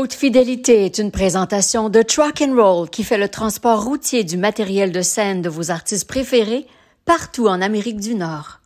Haute Fidélité est une présentation de Truck & Roll qui fait le transport routier du matériel de scène de vos artistes préférés partout en Amérique du Nord.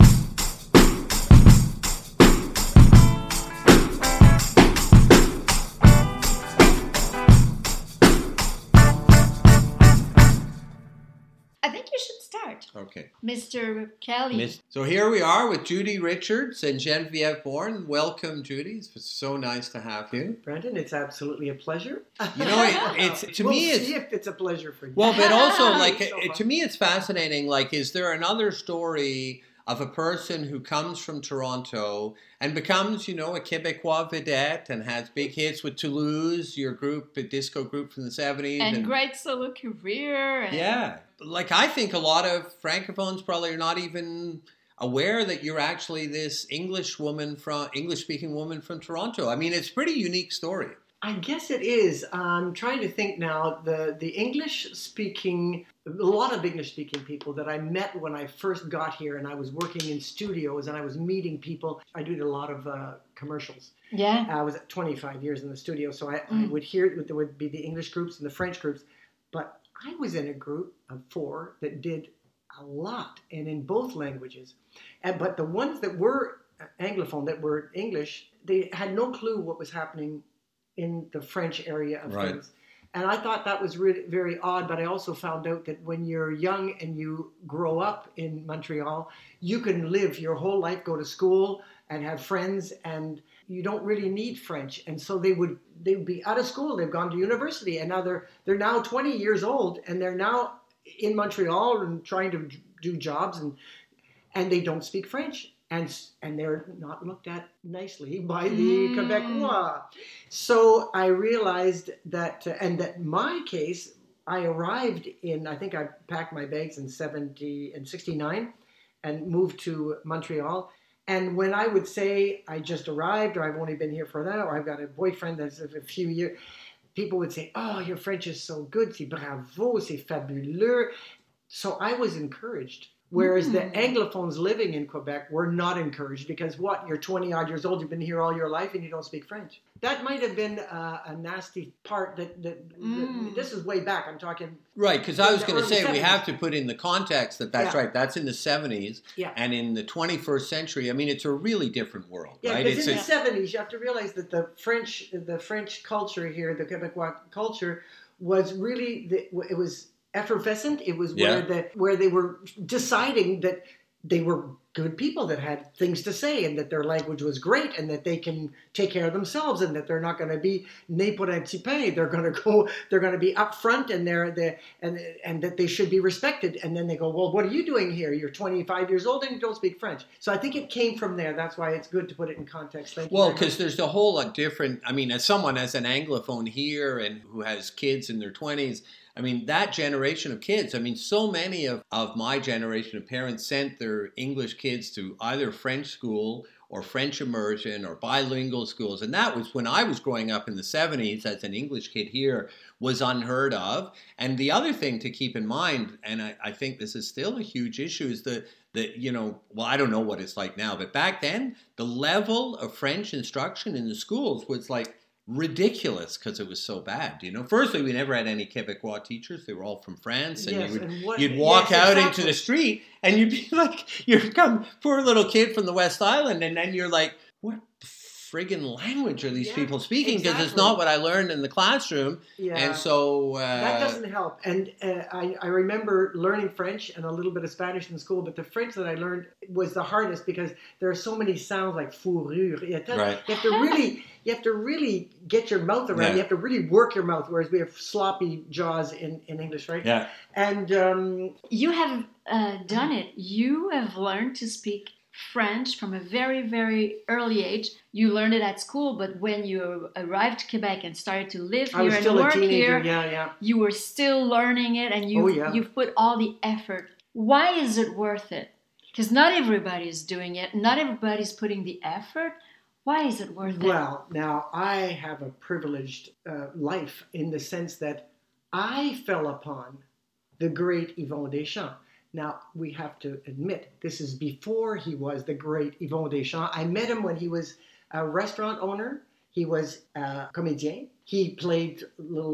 I think you should start. Okay. Mr. Kelly. So here we are with Judy Richards and Genevieve Bourne. Welcome, Judy. It's so nice to have you. Brandon, it's absolutely a pleasure. You know, it's to we'll me, it's see if it's a pleasure for you. well, but also like So to me, it's fascinating. Like, is there another story of a person who comes from Toronto and becomes, you know, a Québécois vedette and has big hits with Toulouse, your group, a disco group from the 70s. And great solo career. And Yeah. Like, I think a lot of Francophones probably are not even aware that you're actually this English-speaking woman from Toronto. I mean, it's a pretty unique story. I guess it is. I'm trying to think now. The English-speaking, a lot of English-speaking people that I met when I first got here, and I was working in studios and I was meeting people. I did a lot of commercials. yeah. I was 25 years in the studio, so I would hear there would be the English groups and the French groups, but I was in a group of 4 that did a lot, and in both languages. But the ones that were Anglophone, that were English, they had no clue what was happening in the French area of Right. things. And I thought that was really very odd, but I also found out that when you're young and you grow up in Montreal, you can live your whole life, go to school and have friends, and you don't really need French. And so they would be out of school, they've gone to university, and now they're now 20 years old, and they're now in Montreal and trying to do jobs, and they don't speak French. And they're not looked at nicely by the Quebecois. So I realized that, and that my case, I arrived I think I packed my bags in 69 and moved to Montreal. And when I would say I just arrived, or I've only been here for that, or I've got a boyfriend that's a few years, people would say, "Oh, your French is so good, c'est bravo, c'est fabuleux." So I was encouraged. Whereas the Anglophones living in Quebec were not encouraged because you're 20 odd years old, you've been here all your life and you don't speak French. That might have been a nasty part that this is way back. I'm talking. Right, because I was in the going to early say, we 70s. have to put in the context that's Yeah. right. That's in the 70s. Yeah. And in the 21st century, I mean, it's a really different world, Yeah, right? because in the 70s, you have to realize that the French culture here, the Quebecois culture, was really, it was effervescent. It was where they were deciding that they were good people that had things to say, and that their language was great, and that they can take care of themselves, and that they're not going to be né pour un petit pain. They're going to be upfront, and and that they should be respected. And then they go, "Well, what are you doing here? You're 25 years old and you don't speak French." So I think it came from there. That's why it's good to put it in context. Thank you. Well, because there's a whole lot different. I mean, as someone as an Anglophone here and who has kids in their 20s, I mean, that generation of kids, I mean, so many of my generation of parents sent their English kids to either French school or French immersion or bilingual schools. And that was when I was growing up in the 70s as an English kid here, was unheard of. And the other thing to keep in mind, and I think this is still a huge issue, is that, you know, well, I don't know what it's like now, but back then, the level of French instruction in the schools was like ridiculous because it was so bad. You know, firstly, we never had any Quebecois teachers. They were all from France, and you'd walk out into the street and you'd be like, you'd come, poor little kid from the West Island, and then you're like, what friggin' language are these people speaking? Because it's not what I learned in the classroom. Yeah. And so that doesn't help. And I remember learning French and a little bit of Spanish in school, but the French that I learned was the hardest because there are so many sounds like fourrure. Right. You have to really get your mouth around. Yeah. You have to really work your mouth, whereas we have sloppy jaws in English, right? Yeah. And you have done it. You have learned to speak French from a very, very early age. You learned it at school, but when you arrived to Quebec and started to live here and work here, you were still learning it, and you've put all the effort. Why is it worth it? Because not everybody is doing it. Not everybody's putting the effort. Why is it worth it? Well, now I have a privileged life in the sense that I fell upon the great Yvon Deschamps. Now, we have to admit, this is before he was the great Yvon Deschamps. I met him when he was a restaurant owner He was a comédien. He played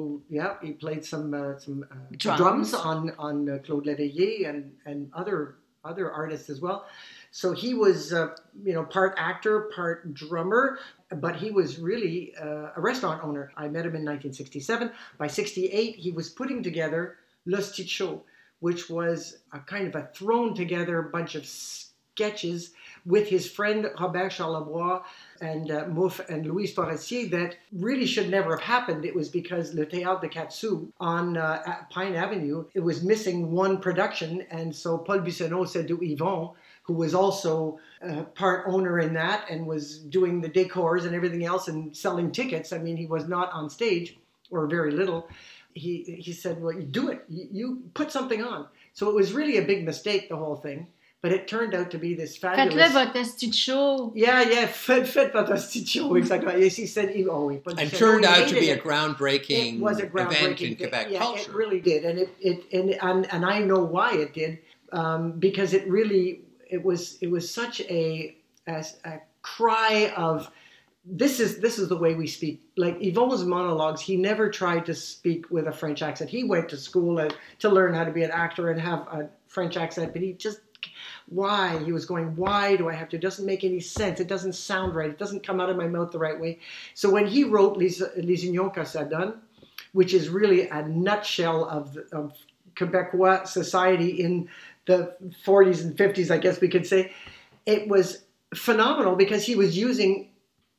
some drums on Claude Léveillé and other artists as well. So he was, part actor, part drummer, but he was really a restaurant owner. I met him in 1967. By 68, he was putting together Le Sticho, which was a kind of a thrown together bunch of sketches with his friend Robert Charlebois and Mouffe and Louise Forestier that really should never have happened. It was because Le Théâtre de Quatre-Sous on Pine Avenue, it was missing one production. And so Paul Buissonneau said to Yvon, who was also part owner in that and was doing the decors and everything else and selling tickets. I mean, he was not on stage or very little. He said, well, you do it. You put something on. So it was really a big mistake, the whole thing. But it turned out to be this fabulous... Faites-le votre studio. Yeah, faites votre studio, exactly. Yes, he said... And turned out to be a groundbreaking event in Quebec culture. It really did. And I know why it did, because it really... It was such a cry of... This is the way we speak. Like Yvon's monologues, he never tried to speak with a French accent. He went to school to learn how to be an actor and have a French accent, but he just... Why? He was going, why do I have to? It doesn't make any sense. It doesn't sound right. It doesn't come out of my mouth the right way. So when he wrote Les Unions que ça donne, which is really a nutshell of Quebecois society in the 40s and 50s, I guess we could say, it was phenomenal because he was using...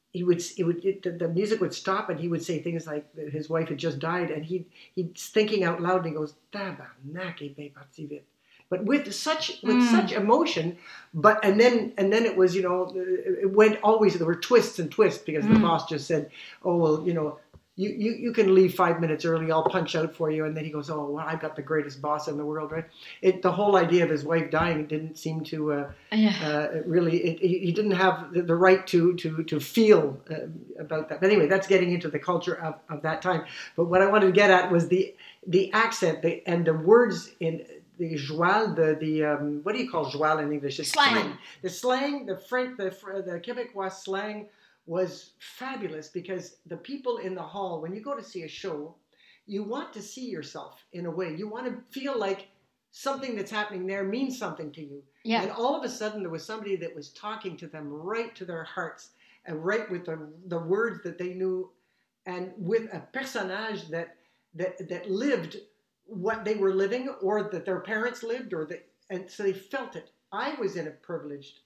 the music would stop and he would say things like his wife had just died and he's thinking out loud and he goes, tabarnak, est bien parti vite. But with such emotion, and then it was, it went always, there were twists and twists because the boss just said, oh, well, you can leave 5 minutes early, I'll punch out for you. And then he goes, oh, well, I've got the greatest boss in the world, right? The whole idea of his wife dying didn't seem to really, he didn't have the right to feel about that. But anyway, that's getting into the culture of that time. But what I wanted to get at was the accent and the words in... The joual, what do you call joual in English? It's slang. The slang, the French, the Quebecois slang was fabulous because the people in the hall, when you go to see a show, you want to see yourself in a way. You want to feel like something that's happening there means something to you. Yeah. And all of a sudden there was somebody that was talking to them right to their hearts and right with the words that they knew and with a personnage that lived what they were living or that their parents lived and so they felt it. I was in a privileged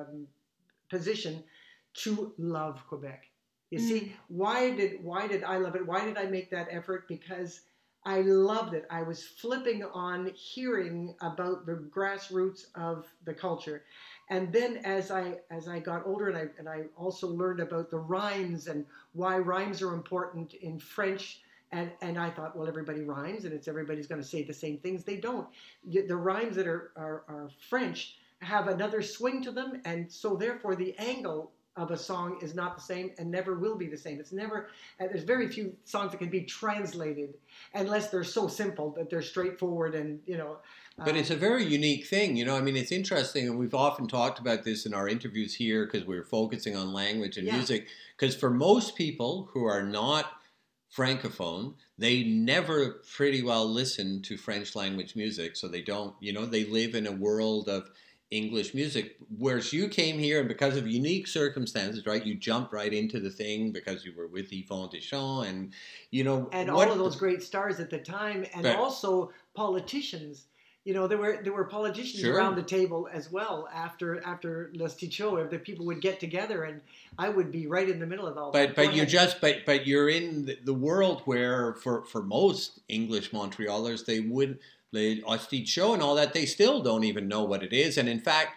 position to love Quebec. You see, why did I love it? Why did I make that effort? Because I loved it. I was flipping on hearing about the grassroots of the culture. And then as I got older and I also learned about the rhymes and why rhymes are important in French. And I thought, well, everybody rhymes, and everybody's going to say the same things. They don't. The rhymes that are French have another swing to them, and so therefore the angle of a song is not the same and never will be the same. It's never. There's very few songs that can be translated unless they're so simple that they're straightforward and But it's a very unique thing, I mean, it's interesting, and we've often talked about this in our interviews here because we're focusing on language and music. Because for most people who are not Francophone, they never pretty well listen to French language music, so they don't, they live in a world of English music, whereas you came here and because of unique circumstances, right, you jumped right into the thing because you were with Yvon Deschamps and, and all of those great stars at the time and also politicians. There were politicians around the table as well after Le Sticho. The people would get together, and I would be right in the middle of all that. But you're in the world where for most English Montrealers, the Sticho and all that, they still don't even know what it is. And in fact,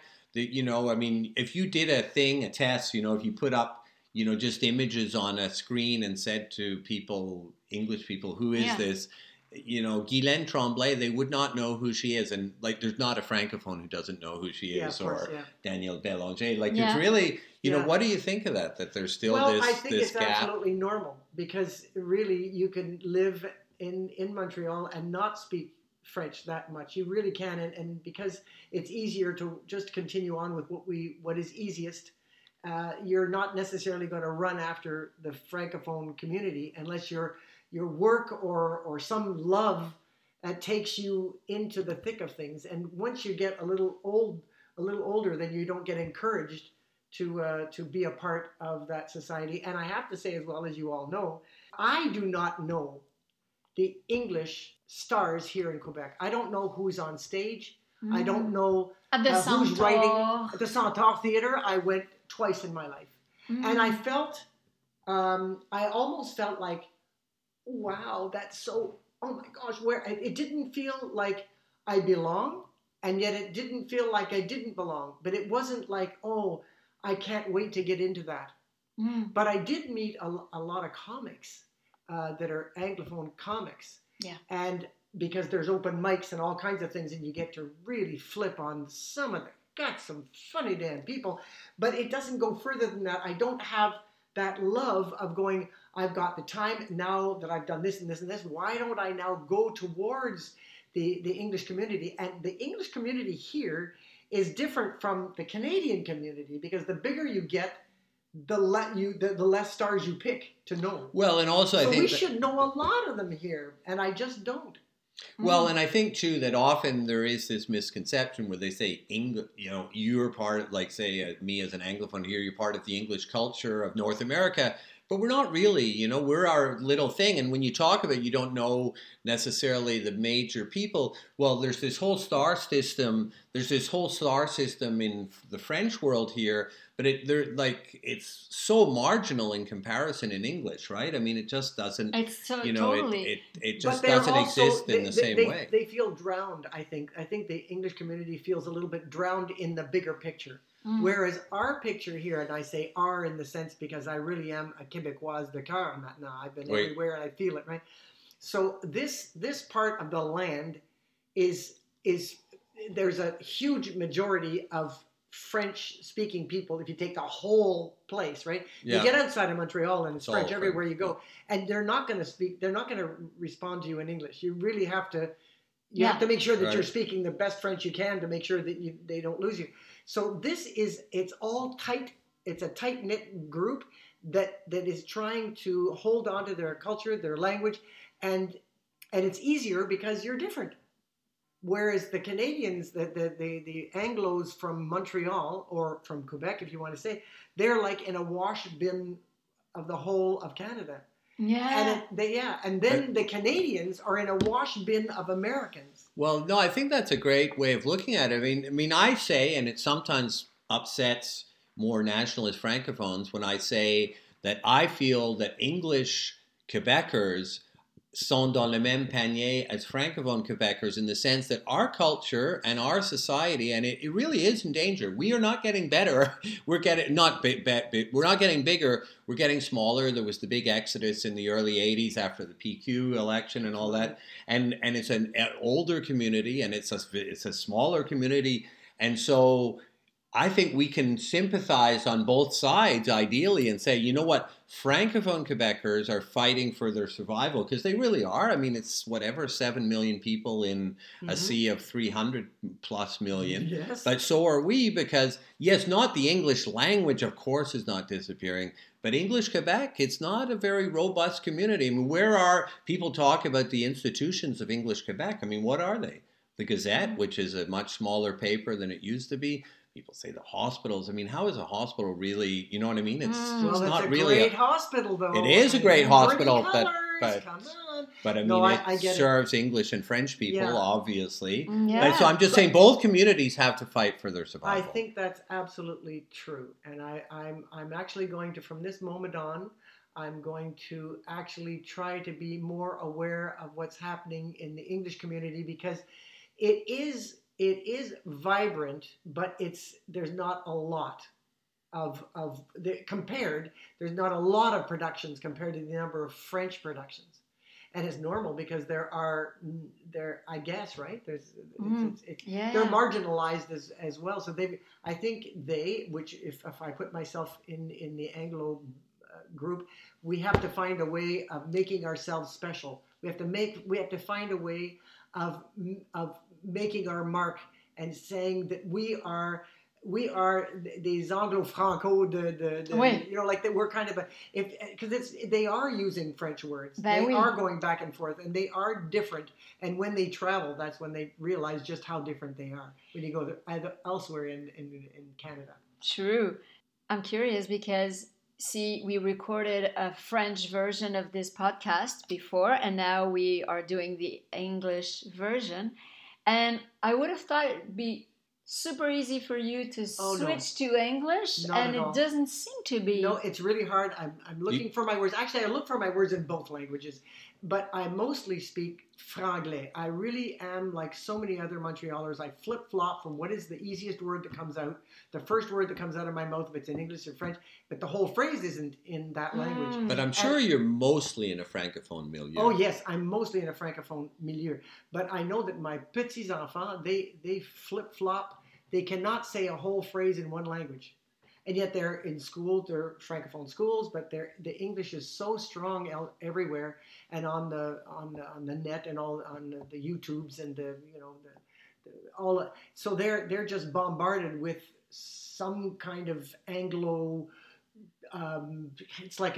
if you did a test, if you put up, just images on a screen and said to people, English people, who is this? Guylaine Tremblay, they would not know who she is. And there's not a Francophone who doesn't know who she is, Danielle Bélanger. It's really, what do you think of that? That there's still this gap? Well, I think it's absolutely normal because really you can live in Montreal and not speak French that much. You really can. And because it's easier to just continue on with what is easiest you're not necessarily going to run after the Francophone community unless your work or some love takes you into the thick of things. And once you get a little older, then you don't get encouraged to be a part of that society. And I have to say, as well, as you all know, I do not know the English stars here in Quebec. I don't know who's on stage. I don't know at the who's Centaur. writing. At the Centaur Theatre, I went twice in my life. And I felt, I almost felt like, wow, that's so, oh my gosh, where it didn't feel like I belong, and yet it didn't feel like I didn't belong. But it wasn't like, oh, I can't wait to get into that. But I did meet a lot of comics that are Anglophone comics. Yeah. And because there's open mics and all kinds of things, and you get to really flip on some of them. Got some funny damn people, but it doesn't go further than that. I don't have that love of going, I've got the time now that I've done this and this and this. Why don't I now go towards the English community? And the English community here is different from the Canadian community, because the bigger you get, the less stars you pick to know. Well, and also I think we should know a lot of them here, and I just don't. Well, and I think too that often there is this misconception where they say you're part of, like, say, me as an Anglophone here, you're part of the English culture of North America. But we're not really, we're our little thing. And when you talk about you don't know necessarily the major people, well, there's this whole star system. There's this whole star system in the French world here, but it's so marginal in comparison in English, right? I mean, it just doesn't. It's so totally. It just doesn't exist in the same way. They feel drowned. I think the English community feels a little bit drowned in the bigger picture. Whereas our picture here, and I say our in the sense because I really am a Québécoise de cœur now. I've been everywhere and I feel it, right? So this part of the land is there's a huge majority of French-speaking people. If you take the whole place, right? Yeah. You get outside of Montreal and it's French everywhere you go, and they're not going to speak. They're not going to respond to you in English. You really have to. You have to make sure that you're speaking the best French you can to make sure that they don't lose you. So it's all tight. It's a tight-knit group that is trying to hold on to their culture, their language, and it's easier because you're different. Whereas the Canadians, the Anglos from Montreal or from Quebec, if you want to say, they're like in a wash bin of the whole of Canada. Yeah. And then the Canadians are in a wash bin of Americans. Well, no, I think that's a great way of looking at it. I mean, I say, and it sometimes upsets more nationalist francophones when I say that I feel that English Quebecers sont dans le même panier as francophone Quebecers, in the sense that our culture and our society, and it really is in danger. We are not getting better. We're getting we're not getting bigger. We're getting smaller. There was the big exodus in the early 80s after the PQ election and all that. And it's an older community, and it's a smaller community. And so I think we can sympathize on both sides, ideally, and say, you know what, Francophone Quebecers are fighting for their survival, because they really are. I mean, it's 7 million people in a sea of 300 plus million. Yes. But so are we, because, yes, not the English language, of course, is not disappearing, but English Quebec, it's not a very robust community. I mean, where are people talk about the institutions of English Quebec? I mean, what are they? The Gazette, which is a much smaller paper than it used to be. People say the hospitals. I mean, how is a hospital really? You know what I mean? It's not really a great hospital, though. It is a great hospital, come on. But I mean, it serves English and French people, obviously. Yeah. But so I'm just saying, both communities have to fight for their survival. I think that's absolutely true, and I'm actually going to, from this moment on, I'm going to actually try to be more aware of what's happening in the English community, because it is vibrant, but there's not a lot there's not a lot of productions compared to the number of French productions. And it's normal because I guess, right? They're marginalized as well. So I think which if I put myself in the Anglo group, we have to find a way of making ourselves special. We have to find a way of making our mark and saying that we are we are des Anglo-Franco, Oui. you know, like that we're kind of because they are using French words. Ben they oui. are going back and forth, and they are different. And when they travel, that's when they realize just how different they are. When you go elsewhere in Canada. True. I'm curious because, see, we recorded a French version of this podcast before, and now we are doing the English version. And I would have thought it'd be super easy for you to switch to English, Not and at all. it doesn't seem to be. No, it's really hard. I'm looking for my words. Actually, I look for my words in both languages, but I mostly speak franglais. I really am like so many other Montrealers. I flip-flop from what is the easiest word that comes out, the first word that comes out of my mouth, if it's in English or French, but the whole phrase isn't in that language. But I'm sure you're mostly in a francophone milieu. Oh yes, I'm mostly in a francophone milieu. But I know that my petits enfants, they flip-flop. They cannot say a whole phrase in one language. And yet they're in school, they're francophone schools, but the English is so strong everywhere, and on the net and all on the YouTubes and so they're just bombarded with some kind of Anglo. It's like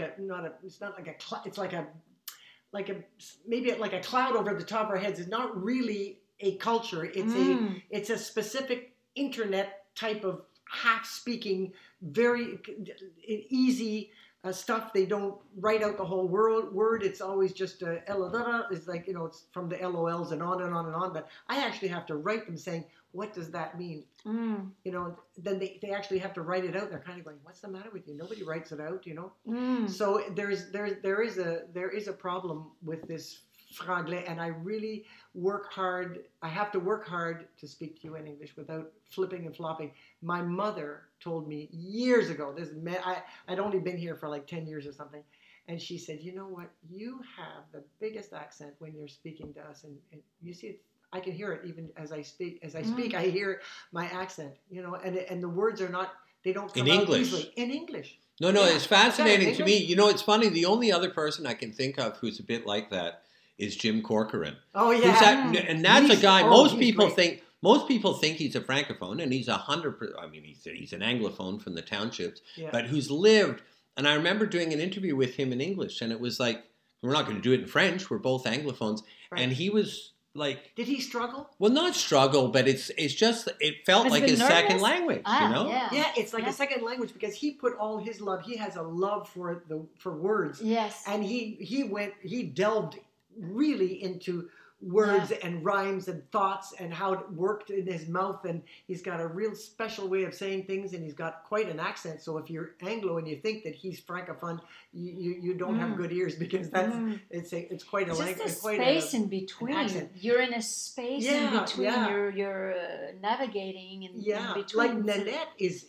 maybe like a cloud over the top of our heads. It's not really a culture. It's a specific internet type of half-speaking, very easy stuff. They don't write out the whole word. It's always just it's like, it's from the LOLs and on and on and on. But I actually have to write them saying, what does that mean? Then they actually have to write it out. They're kind of going, what's the matter with you? Nobody writes it out, So there is a problem with this franglais, and I really work hard. I have to work hard to speak to you in English without flipping and flopping. My mother told me years ago, I'd only been here for like 10 years or something, and she said, you know what, you have the biggest accent when you're speaking to us, and you see, I can hear it even as I speak. I hear my accent, and the words are not, they don't come out easily. In English. No, it's fascinating to me. It's funny, the only other person I can think of who's a bit like that is Jim Corcoran. Oh yeah, and that's a guy. Most people think he's a francophone, and he's 100%. I mean, he's an anglophone from the townships, but who's lived. And I remember doing an interview with him in English, and it was like, we're not going to do it in French. We're both anglophones, right. And he was like, did he struggle? Well, not struggle, but it felt like his second language. Yeah, it's like a second language because he put all his love. He has a love for words. Yes, and he delved really into words and rhymes and thoughts and how it worked in his mouth, and he's got a real special way of saying things, and he's got quite an accent. So if you're Anglo and you think that he's francophone, you don't have good ears, because that's it's quite a language. Just a space in between. You're in a space in between. You're navigating in between. Like Nanette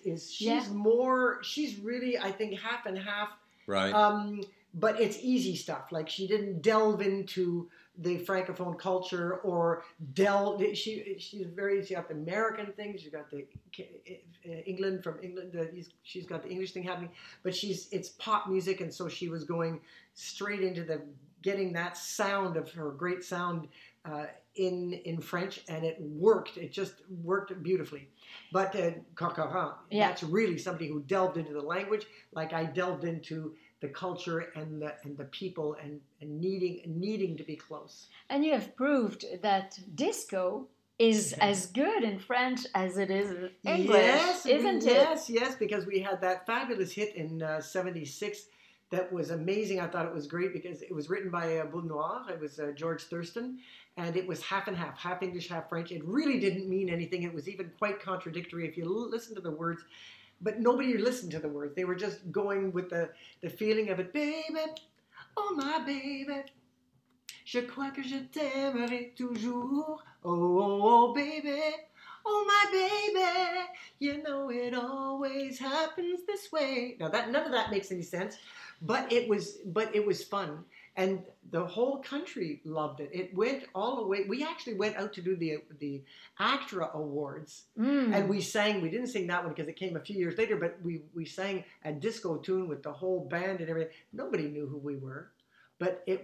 she's really, I think, half and half. Right. But it's easy stuff. Like, she didn't delve into the francophone culture or she's got the American thing. She's got the England. She's got the English thing happening, but it's pop music. And so she was going straight into getting that sound of her great sound in French, and it worked. It just worked beautifully. But Corcoran, that's really somebody who delved into the language, like I delved into the culture and the people and needing to be close. And you have proved that disco is as good in French as it is in English, isn't it? Yes, because we had that fabulous hit in '76 that was amazing. I thought it was great because it was written by Boule Noire. It was George Thurston, and it was half and half English, half French. It really didn't mean anything. It was even quite contradictory if you listen to the words. But nobody listened to the words. They were just going with the feeling of it. Baby, oh my baby, je crois que je t'aimerai toujours. Oh baby, oh my baby, you know it always happens this way. Now none of that makes any sense, but it was fun. And the whole country loved it. It went all the way. We actually went out to do the ACTRA Awards, and we sang. We didn't sing that one because it came a few years later, but we sang a disco tune with the whole band and everything. Nobody knew who we were, but the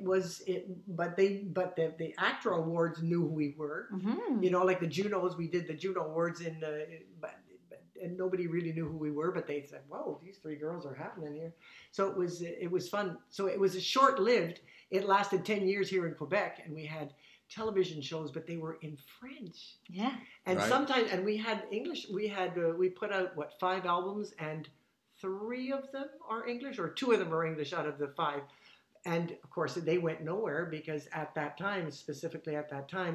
ACTRA Awards knew who we were. Mm-hmm. Like the Junos. We did the Juno Awards and nobody really knew who we were, but they said, "Whoa, these three girls are happening here." So it was fun. So it was short-lived. It lasted 10 years here in Quebec, and we had television shows, but they were in French. Yeah. And Right. sometimes, and we had English. We put out 5 albums, and 3 of them are English, or 2 of them are English out of the 5. And of course, they went nowhere because at that time, specifically at that time,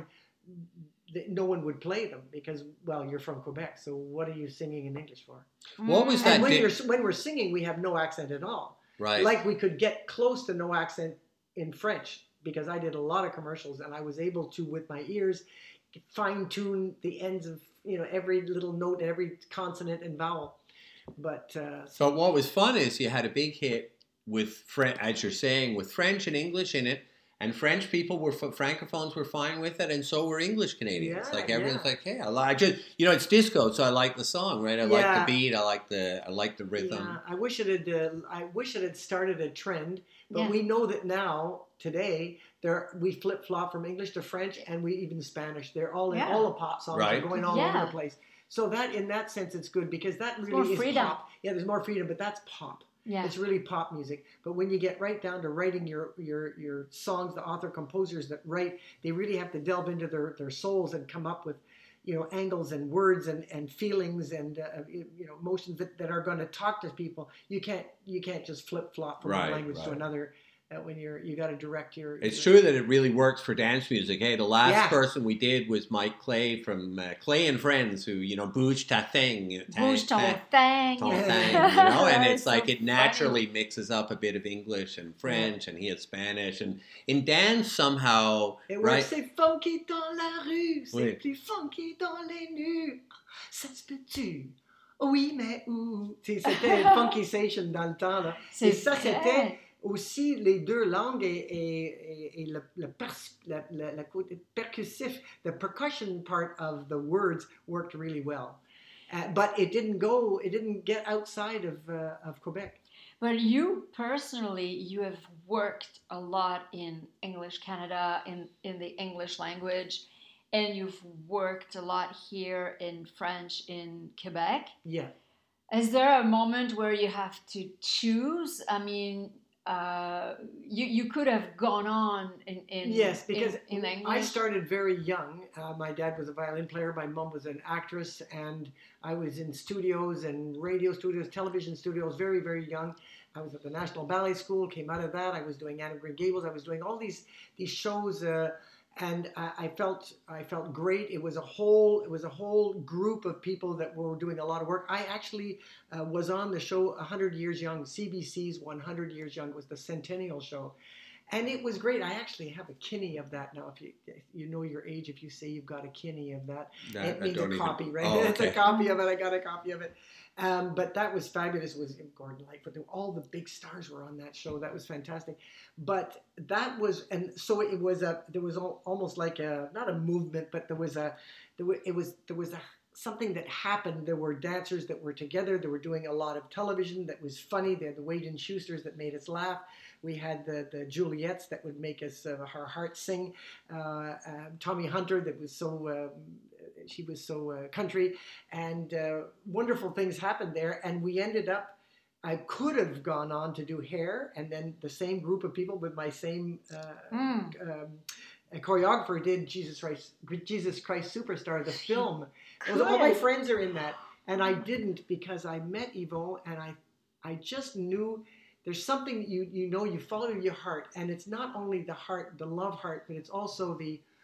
no one would play them because, well, you're from Quebec, so what are you singing in English for? What was that? And when we're singing, we have no accent at all. Right. Like we could get close to no accent in French because I did a lot of commercials and I was able to, with my ears, fine tune the ends of every little note, every consonant and vowel. But what was fun is you had a big hit with as you're saying, with French and English in it. And French people francophones were fine with it, and so were English Canadians. Yeah, like everyone's like, "Hey, I just it's disco, so I like the song, right? I like the beat, I like the rhythm." Yeah, I wish it had started a trend, but Yeah. we know that now today we flip flop from English to French, and we even Spanish. They're all in all the pop songs Right. are going all Yeah. over the place. So that in that sense, it's good because that more really is freedom. pop. Yeah, there's more freedom, but that's pop. Yeah. It's really pop music. But when you get right down to writing your songs, the author composers that write, they really have to delve into their souls and come up with, angles and words and feelings and emotions that are going to talk to people. You can't just flip flop from one language to another. When you got to direct your. It's true that it really works for dance music. Hey, the last person we did was Mike Clay from Clay and Friends, who bouge ta thing, Bouge ton thing. and it's So like it naturally mixes up a bit of English and French, and he had Spanish, and in dance somehow, it right? works. C'est funky dans la rue, c'est Oui. plus funky dans les nues. Ça se peut-tu? Oui, mais où? C'était Funky Station dans le temps là. Et ça c'était aussi les 2 langues et le côté percussif, the percussion part of the words worked really well. But it didn't get outside of Quebec. But you personally, you have worked a lot in English Canada, in the English language, and you've worked a lot here in French in Quebec. Yeah. Is there a moment where you have to choose? I mean, you could have gone on in yes, because in English. I started very young. My dad was a violin player. My mom was an actress, and I was in studios and radio studios, television studios, very, very young. I was at the National Ballet School. Came out of that. I was doing Anne of Green Gables. I was doing all these shows. And I felt great. It was a whole group of people that were doing a lot of work. I actually was on the show 100 Years Young. CBC's 100 Years Young was the centennial show, and it was great. I actually have a kinnie of that now. If you know your age, if you say you've got a kinnie of that, it means a copy, right? Oh, okay. It's a copy of it. I got a copy of it. But that was fabulous. It was Gordon Lightfoot. All the big stars were on that show. That was fantastic. But that was, and so it was there was almost like not a movement, but there was something that happened. There were dancers that were together. They were doing a lot of television that was funny. They had the Wade and Schusters that made us laugh. We had the Juliettes that would make us our hearts sing. Tommy Hunter that was so. She was so country, and wonderful things happened there. And we ended up, I could have gone on to do hair, and then the same group of people with my same choreographer did Jesus Christ Superstar, the film. Cool. All my friends are in that, and I didn't because I met Yvon, and I just knew there's something you follow your heart, and it's not only the heart, the love heart, but it's also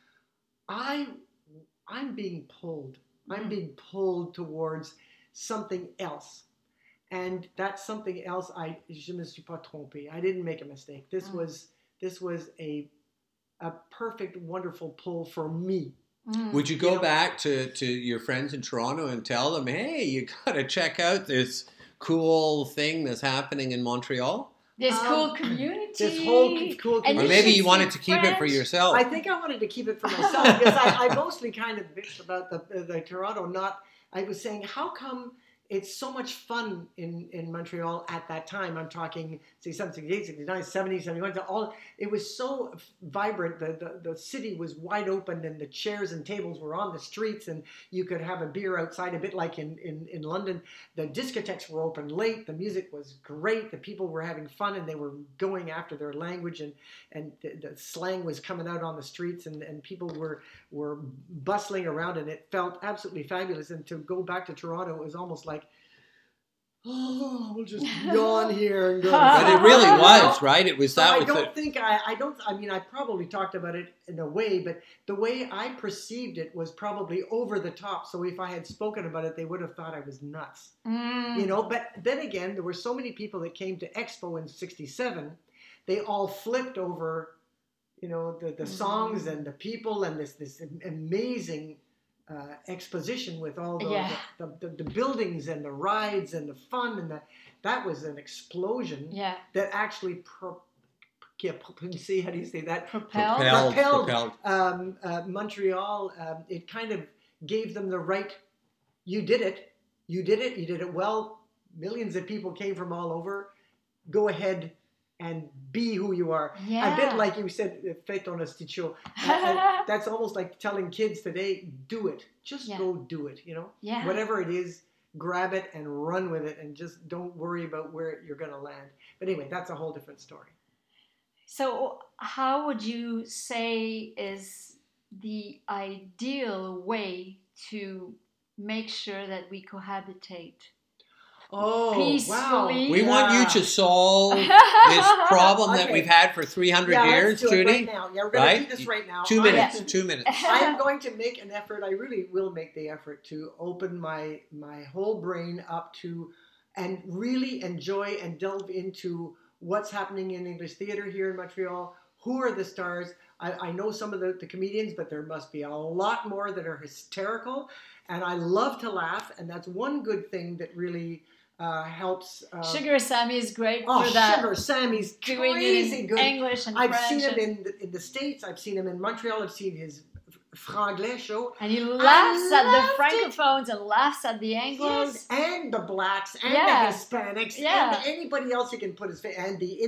I'm being pulled. I'm being pulled towards something else. And that's something else. Je me suis pas trompé. I didn't make a mistake. This was a perfect, wonderful pull for me. Would you go back to your friends in Toronto and tell them, hey, you got to check out this cool thing that's happening in Montreal? This cool community. This whole cool community. Or maybe you wanted to keep it for yourself. I think I wanted to keep it for myself because I mostly kind of bitched about the Toronto. I was saying, how come it's so much fun in Montreal at that time. I'm talking 68, 69, 70, 71. It was so vibrant. The city was wide open, and the chairs and tables were on the streets, and you could have a beer outside, a bit like in London. The discotheques were open late. The music was great. The people were having fun, and they were going after their language, and the slang was coming out on the streets, and people were bustling around, and it felt absolutely fabulous. And to go back to Toronto, it was almost like, oh, we'll just yawn here and go. But it really was, right? It was So that. I mean, I probably talked about it in a way, but the way I perceived it was probably over the top. So if I had spoken about it, they would have thought I was nuts, you know. But then again, there were so many people that came to Expo in '67. They all flipped over, you know, the songs and the people and this amazing exposition with all the buildings and the rides and the fun, and that was an explosion that actually see, how do you say that? Propelled. Montreal. It kind of gave them the right. You did it well. Millions of people came from all over. Go ahead and be who you are. A bit like you said, fais ton asticho. That's almost like telling kids today, do it. Just go do it, you know? Yeah. Whatever it is, grab it and run with it, and just don't worry about where you're going to land. But anyway, that's a whole different story. So how would you say is the ideal way to make sure that we cohabitate? Oh, peacefully. wow. We want you to solve this problem that we've had for 300 years, let's do it Judy. right now. Yeah, we're going to do this right now. 2 minutes. 2 minutes. I am going to make an effort. I really will make the effort to open my whole brain up to and really enjoy and delve into what's happening in English theater here in Montreal. Who are the stars? I know some of the comedians, but there must be a lot more that are hysterical. And I love to laugh. And that's one good thing that really helps. Sugar Sammy is great for that. Sugar Sammy's doing crazy it in good. English and I've French. seen him in the States. I've seen him in Montreal. I've seen his Franglais show. And he laughs at the Francophones and laughs at the Anglos. Yes, and the blacks and the Hispanics and anybody else he can put his face, and the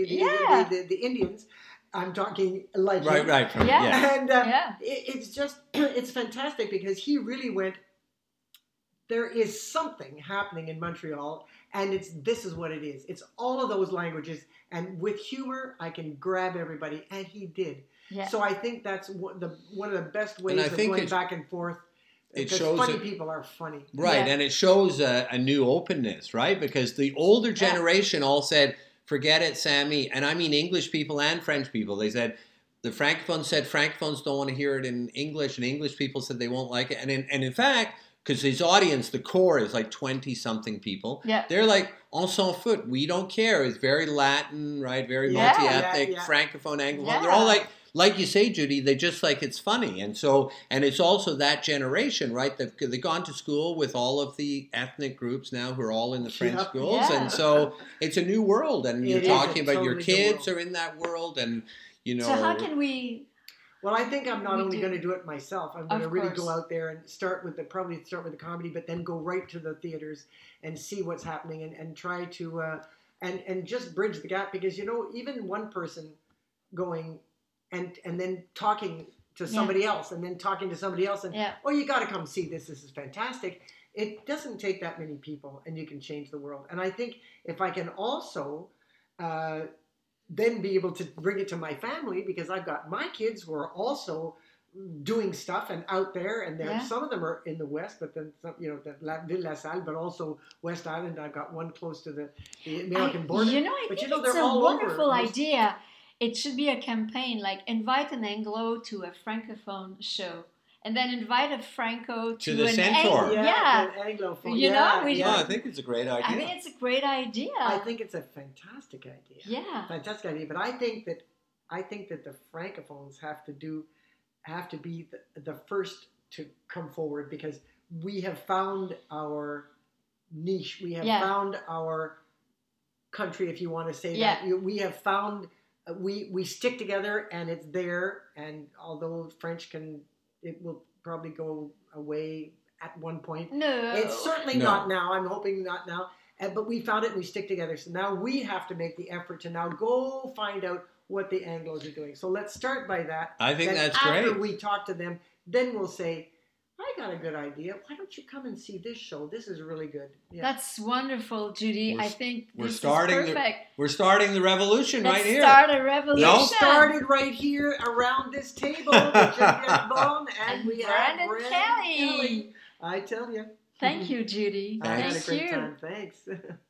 the Indians. I'm talking like him. Right. And it's just, it's fantastic because he really went, there is something happening in Montreal, and this is what it is. It's all of those languages, and with humor, I can grab everybody, and he did. Yeah. So I think that's one of the best ways of going back and forth. It because shows funny people are funny. Right, and it shows a new openness, right? Because the older generation all said, forget it, Sammy. And I mean English people and French people. They said, the Francophones said Francophones don't want to hear it in English, and English people said they won't like it. And in fact, because his audience, the core is like 20-something people. Yeah. They're like, on s'en fout. We don't care. It's very Latin, right? Very multi-ethnic, Francophone, Anglophone. Yeah. They're all like you say, Judy, they just like it's funny. And so, and it's also that generation, right? They've gone to school with all of the ethnic groups now who are all in the French schools. Yeah. And so it's a new world. And you're talking about your kids world. are in that world. And, you know. So how can we... Well, I think I'm not only going to do it myself. I'm going to really course. go out there and probably start with the comedy, but then go right to the theaters and see what's happening and try to and just bridge the gap, because you know, even one person going and then talking to somebody else and then talking to somebody else and oh, you got to come see this. This is fantastic. It doesn't take that many people, and you can change the world. And I think if I can also then be able to bring it to my family, because I've got my kids who are also doing stuff and out there, and some of them are in the West, but then some, you know, the Ville La Salle, but also West Island. I've got one close to the American border. You know, I think it's a wonderful idea. It should be a campaign, like invite an Anglo to a Francophone show, and then invite a Franco to the Centaur. Yeah. Anglophone. You know, I think it's a great idea. I think it's a great idea. I think it's a fantastic idea. Yeah. Fantastic idea. But I think that the Francophones have to be the first to come forward, because we have found our niche. We have found our country, if you want to say that. We have found, we stick together, and it's there. And although French it will probably go away at one point. No. It's certainly No. not now. I'm hoping not now. But we found it and we stick together. So now we have to make the effort to now go find out what the Anglos are doing. So let's start by that. I think Then that's after great. we talk to them, then we'll say, I got a good idea. Why don't you come and see this show? This is really good. Yeah. That's wonderful, Judy. We're- I think we're this starting is perfect. We're starting the revolution Let's right here. start a revolution. No? It started right here around this table with Genevieve Bone and we have Brandon Brandon Kelly. Kelly. I tell you. Thank you, Judy. I had a Thank great you. time. Thanks.